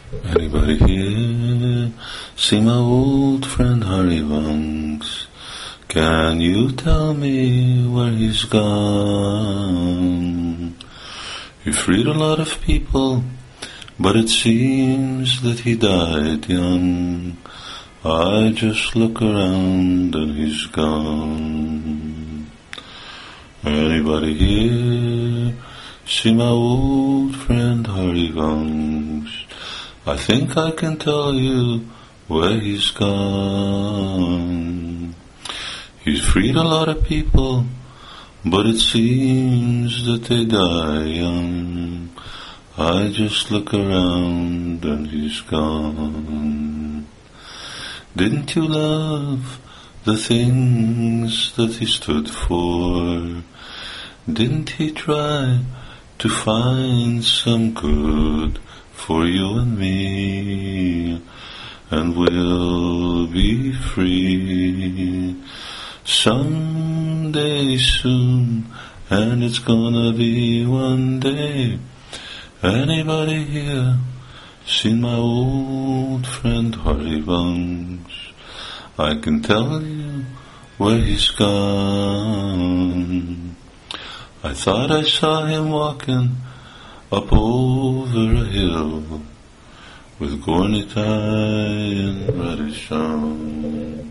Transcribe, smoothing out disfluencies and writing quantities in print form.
Anybody here see my old friend Harivansh? Can you tell me where he's gone? He freed a lot of people, but it seems that he died young. I just look around and he's gone. Anybody here see my old friend Harivansh? I think I can tell you where he's gone. He's freed a lot of people, but it seems that they die young. I just look around and he's gone. Didn't you love the things that he stood for? Didn't he try to find some good for you and me? And we'll be free someday soon, and it's gonna be one day. Anybody here seen my old friend Harivansh? I can tell you where he's gone. I thought I saw him walking up over a hill with Gornitai and Radishan.